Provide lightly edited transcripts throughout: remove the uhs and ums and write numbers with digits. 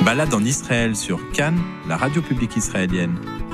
Balade en Israël sur Cannes, la radio publique israélienne.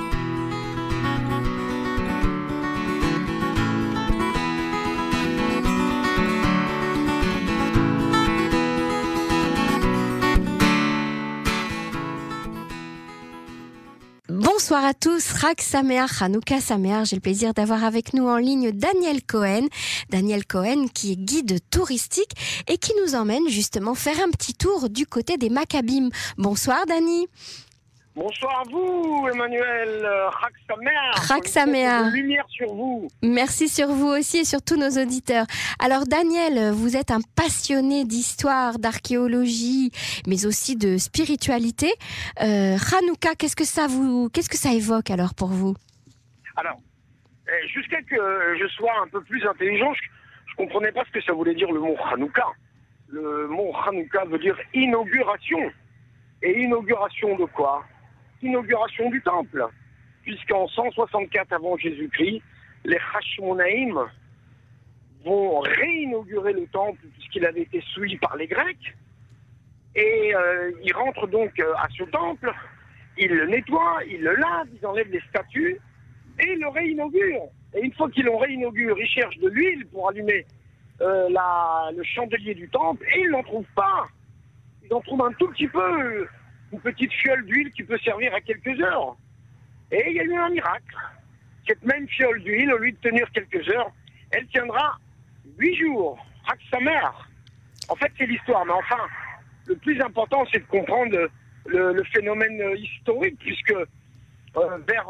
Bonsoir à tous, Chag Sameach, Hanouka Sameach. J'ai le plaisir d'avoir avec nous en ligne Daniel Cohen. Daniel Cohen qui est guide touristique et qui nous emmène justement faire un petit tour du côté des Maccabim. Bonsoir Dani. Bonsoir à vous, Emmanuel. Chag Sameach. Chag Sameach. Lumière sur vous. Merci sur vous aussi et sur tous nos auditeurs. Alors Daniel, vous êtes un passionné d'histoire, d'archéologie, mais aussi de spiritualité. Hanouka, qu'est-ce que ça évoque alors pour vous? Alors, jusqu'à que je sois un peu plus intelligent, je comprenais pas ce que ça voulait dire le mot Hanouka. Le mot Hanouka veut dire inauguration. Et inauguration de quoi? Inauguration du temple, puisqu'en 164 avant Jésus-Christ, les Hashmonaïm vont réinaugurer le temple puisqu'il avait été souillé par les Grecs, et ils rentrent donc à ce temple, ils le nettoient, ils le lavent, ils enlèvent les statues et ils le réinaugurent. Et une fois qu'ils l'ont réinauguré, ils cherchent de l'huile pour allumer le chandelier du temple et ils n'en trouvent pas. Ils en trouvent un tout petit peu, une petite fiole d'huile qui peut servir à quelques heures. Et il y a eu un miracle. Cette même fiole d'huile, au lieu de tenir quelques heures, elle tiendra 8 jours. Chag Sameach. En fait, c'est l'histoire. Mais enfin, le plus important, c'est de comprendre le phénomène historique, puisque vers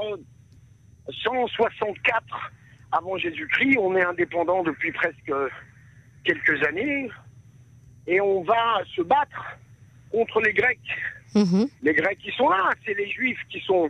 164 avant Jésus-Christ, on est indépendant depuis presque quelques années, et on va se battre contre les Grecs. Les Grecs qui sont là, c'est les Juifs qui sont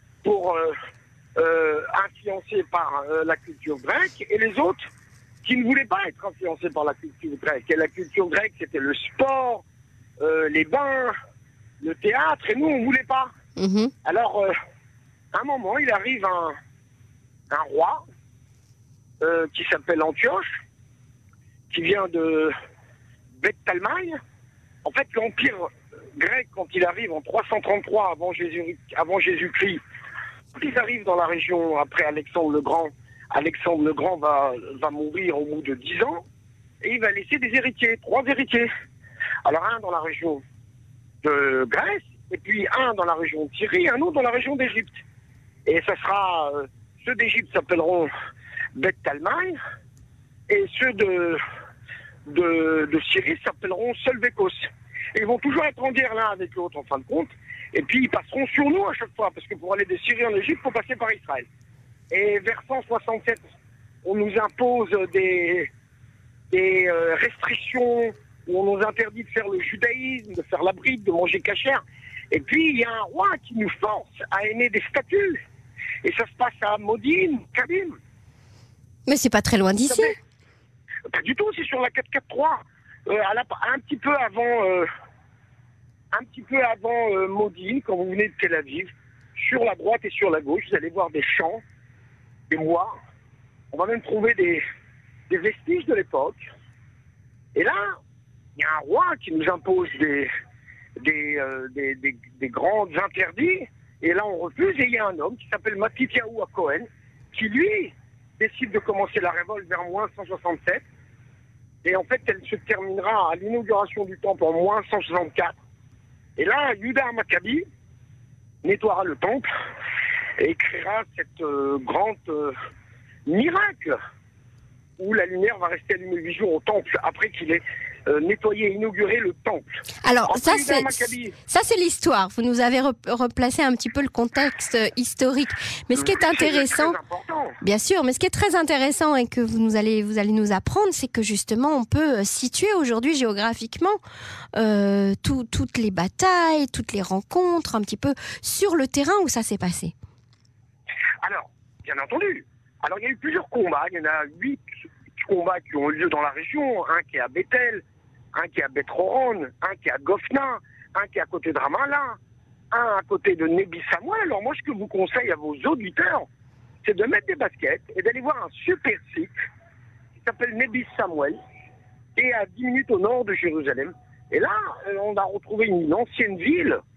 influencés par la culture grecque, et les autres qui ne voulaient pas être influencés par la culture grecque. Et la culture grecque, c'était le sport, les bains, le théâtre, et nous, on ne voulait pas. Alors, à un moment, il arrive un roi qui s'appelle Antioche, qui vient de Beth Talmaï. En fait, l'empire grec, quand il arrive en 333 avant Jésus-Christ, ils arrivent dans la région après Alexandre le Grand. Alexandre le Grand va mourir au bout de 10 ans et il va laisser des héritiers, 3 héritiers. Alors un dans la région de Grèce, et puis un dans la région de Syrie, un autre dans la région d'Égypte. Et ça sera, ceux d'Égypte s'appelleront Beth Talmaï et ceux de Syrie s'appelleront Selvékos. Et ils vont toujours être en guerre l'un avec l'autre en fin de compte. Et puis ils passeront sur nous à chaque fois, parce que pour aller de Syrie en Égypte, il faut passer par Israël. Et vers 167, on nous impose des restrictions, où on nous interdit de faire le judaïsme, de faire la bride, de manger cachère. Et puis il y a un roi qui nous force à aimer des statues. Et ça se passe à Modine, Kabim. Mais c'est pas très loin d'ici. Pas du tout, c'est sur la 443. Un petit peu avant Modine, quand vous venez de Tel Aviv, sur la droite et sur la gauche, vous allez voir des champs, des bois. On va même trouver des vestiges de l'époque. Et là, il y a un roi qui nous impose des grands interdits. Et là, on refuse. Et il y a un homme qui s'appelle Matityahu à Cohen, qui lui décide de commencer la révolte vers moins 167. Et en fait, elle se terminera à l'inauguration du temple en moins 164. Et là, Yuda Maccabi nettoiera le temple et créera cette grande miracle où la lumière va rester allumée 8 jours au temple après qu'il ait nettoyé et inauguré le temple. Alors, ça c'est l'histoire. Vous nous avez replacé un petit peu le contexte historique. Mais ce qui est intéressant, bien sûr, mais ce qui est très intéressant et que vous allez nous apprendre, c'est que justement, on peut situer aujourd'hui géographiquement toutes les batailles, toutes les rencontres, un petit peu sur le terrain où ça s'est passé. Alors, bien entendu. Alors, il y a eu plusieurs combats. Il y en a 8 combats qui ont eu lieu dans la région. Un qui est à Bethel, un qui est à Beth Horon, un qui est à Gofna, un qui est à côté de Ramallah, un à côté de Nebi Samuel. Alors moi, ce que je vous conseille à vos auditeurs, c'est de mettre des baskets et d'aller voir un super site qui s'appelle Nebi Samuel et à 10 minutes au nord de Jérusalem. Et là, on a retrouvé une ancienne ville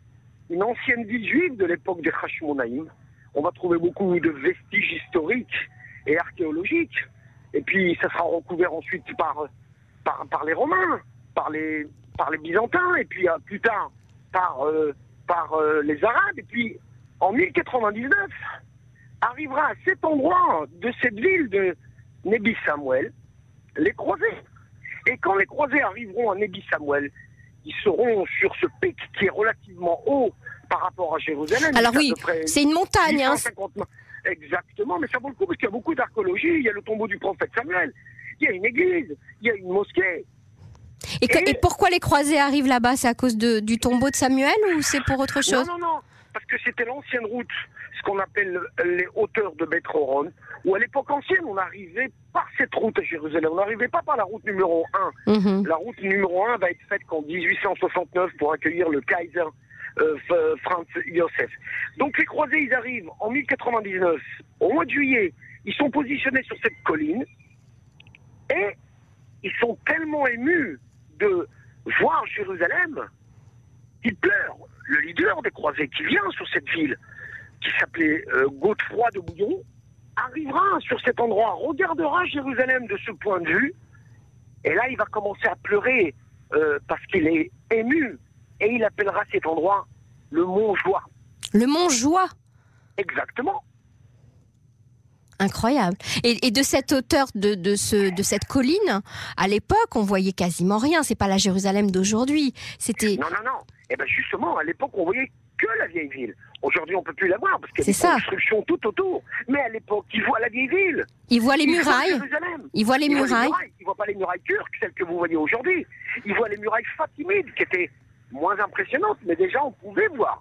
une ancienne ville juive de l'époque des Hashmonaïm. On va trouver beaucoup de vestiges historiques et archéologiques. Et puis, ça sera recouvert ensuite par les Romains, par les Byzantins, et puis plus tard par les Arabes. Et puis, en 1099, arrivera à cet endroit de cette ville de Nebi Samuel, les croisés. Et quand les croisés arriveront à Nebi Samuel, ils seront sur ce pic qui est relativement haut par rapport à Jérusalem. Alors oui, c'est une montagne. 850... Exactement, mais ça vaut le coup parce qu'il y a beaucoup d'archéologie. Il y a le tombeau du prophète Samuel, il y a une église, il y a une mosquée. Et pourquoi les croisés arrivent là-bas? C'est à cause du tombeau de Samuel ou c'est pour autre chose? Non, parce que c'était l'ancienne route, ce qu'on appelle les hauteurs de Beth Horon, où à l'époque ancienne, on arrivait par cette route à Jérusalem. On n'arrivait pas par la route numéro 1. La route numéro 1 va être faite qu'en 1869 pour accueillir le Kaiser Franz Joseph. Donc les croisés, ils arrivent en 1099, au mois de juillet, ils sont positionnés sur cette colline et ils sont tellement émus de voir Jérusalem qu'ils pleurent. Le leader des croisés qui vient sur cette ville, qui s'appelait Godefroy de Bouillon, arrivera sur cet endroit, regardera Jérusalem de ce point de vue, et là il va commencer à pleurer parce qu'il est ému. Et il appellera cet endroit le Mont Joie. Le Mont Joie? Exactement. Incroyable. Et de cette hauteur, de cette colline, à l'époque, on voyait quasiment rien. C'est pas la Jérusalem d'aujourd'hui. C'était... Non. Et bien justement, à l'époque, on voyait que la vieille ville. Aujourd'hui, on peut plus la voir parce qu'il y a des constructions tout autour. Mais à l'époque, ils voient la vieille ville. Ils voient les murailles. Ils voient les murailles. Ils voient pas les murailles turques, celles que vous voyez aujourd'hui. Ils voient les murailles fatimides qui étaient moins impressionnante, mais déjà on pouvait voir.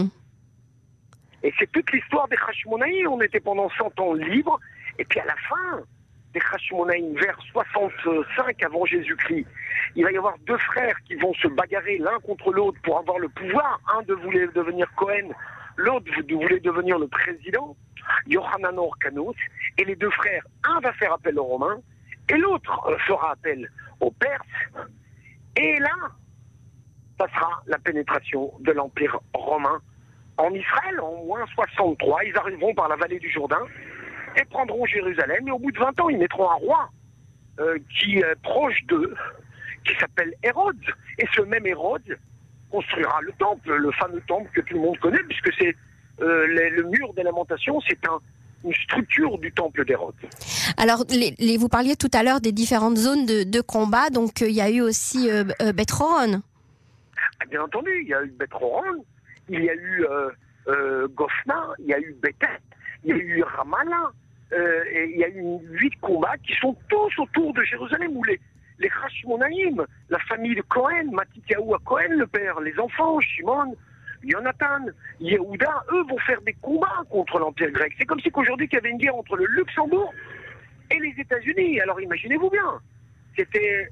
Et c'est toute l'histoire des Hashmonaïm. On était pendant 100 ans libres, et puis à la fin des Hashmonaïm, vers 65 avant Jésus-Christ, il va y avoir deux frères qui vont se bagarrer l'un contre l'autre pour avoir le pouvoir. Un voulait devenir Cohen, l'autre voulait devenir le président, Yohanan Orkanos, et les deux frères, un va faire appel aux Romains, et l'autre fera appel aux Perses, et là, ça sera la pénétration de l'Empire romain en Israël en moins 63. Ils arriveront par la vallée du Jourdain et prendront Jérusalem. Et au bout de 20 ans, ils mettront un roi qui est proche d'eux, qui s'appelle Hérode. Et ce même Hérode construira le temple, le fameux temple que tout le monde connaît, puisque c'est le mur des lamentations, c'est une structure du temple d'Hérode. Alors, vous parliez tout à l'heure des différentes zones de combat, donc il y a eu aussi Beth Horon. Bien entendu, il y a eu Beth Horon, il y a eu Gophna, il y a eu Bethel, il y a eu Ramallah, et il y a eu 8 combats qui sont tous autour de Jérusalem, où les Hashmonaïm, la famille de Cohen, Matityahu à Cohen, le père, les enfants, Shimon, Jonathan, Yehuda, eux vont faire des combats contre l'Empire grec. C'est comme si qu'aujourd'hui il y avait une guerre entre le Luxembourg et les États-Unis. Alors imaginez-vous bien, c'était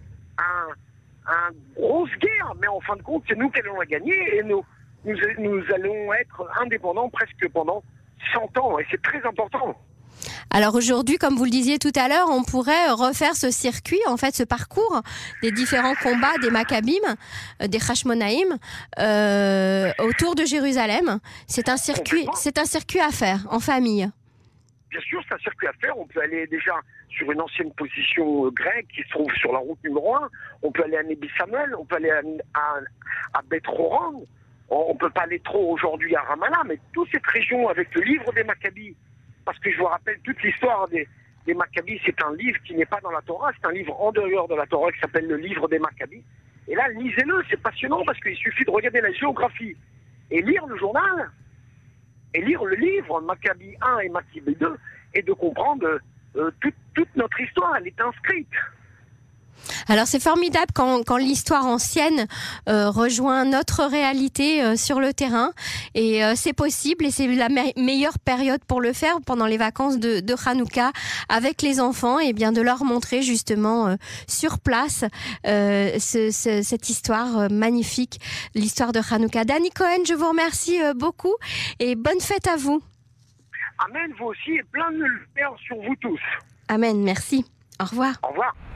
une grosse guerre, mais en fin de compte, c'est nous qui allons la gagner et nous allons être indépendants presque pendant 100 ans, et c'est très important. Alors aujourd'hui, comme vous le disiez tout à l'heure, on pourrait refaire ce circuit, en fait, ce parcours des différents combats des Maccabim, des Hashmonaïm, autour de Jérusalem. C'est un circuit à faire en famille. Bien sûr, c'est un circuit à faire. On peut aller déjà sur une ancienne position grecque qui se trouve sur la route numéro 1. On peut aller à Nebi Samuel, on peut aller à Beth Horon. On ne peut pas aller trop aujourd'hui à Ramallah, mais toute cette région avec le livre des Maccabis, parce que je vous rappelle toute l'histoire des Maccabis, c'est un livre qui n'est pas dans la Torah, c'est un livre en dehors de la Torah qui s'appelle le livre des Maccabis. Et là, lisez-le, c'est passionnant parce qu'il suffit de regarder la géographie et lire le journal, et lire le livre Maccabis 1 et Maccabis 2, et de comprendre toute notre histoire, elle est inscrite. Alors c'est formidable quand l'histoire ancienne rejoint notre réalité sur le terrain, et c'est possible, et c'est la meilleure période pour le faire pendant les vacances de Hanouka avec les enfants, et bien de leur montrer justement sur place cette histoire magnifique, l'histoire de Hanouka. Danny Cohen, je vous remercie beaucoup et bonne fête à vous. Amen, vous aussi, et plein de lumière sur vous tous. Amen, merci. Au revoir. Au revoir.